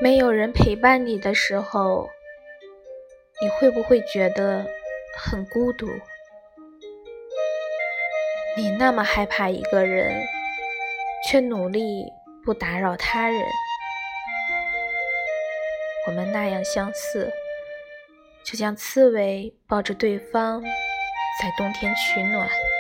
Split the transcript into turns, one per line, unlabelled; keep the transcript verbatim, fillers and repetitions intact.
没有人陪伴你的时候，你会不会觉得很孤独？你那么害怕一个人，却努力不打扰他人。我们那样相似，就像刺猬抱着对方，在冬天取暖。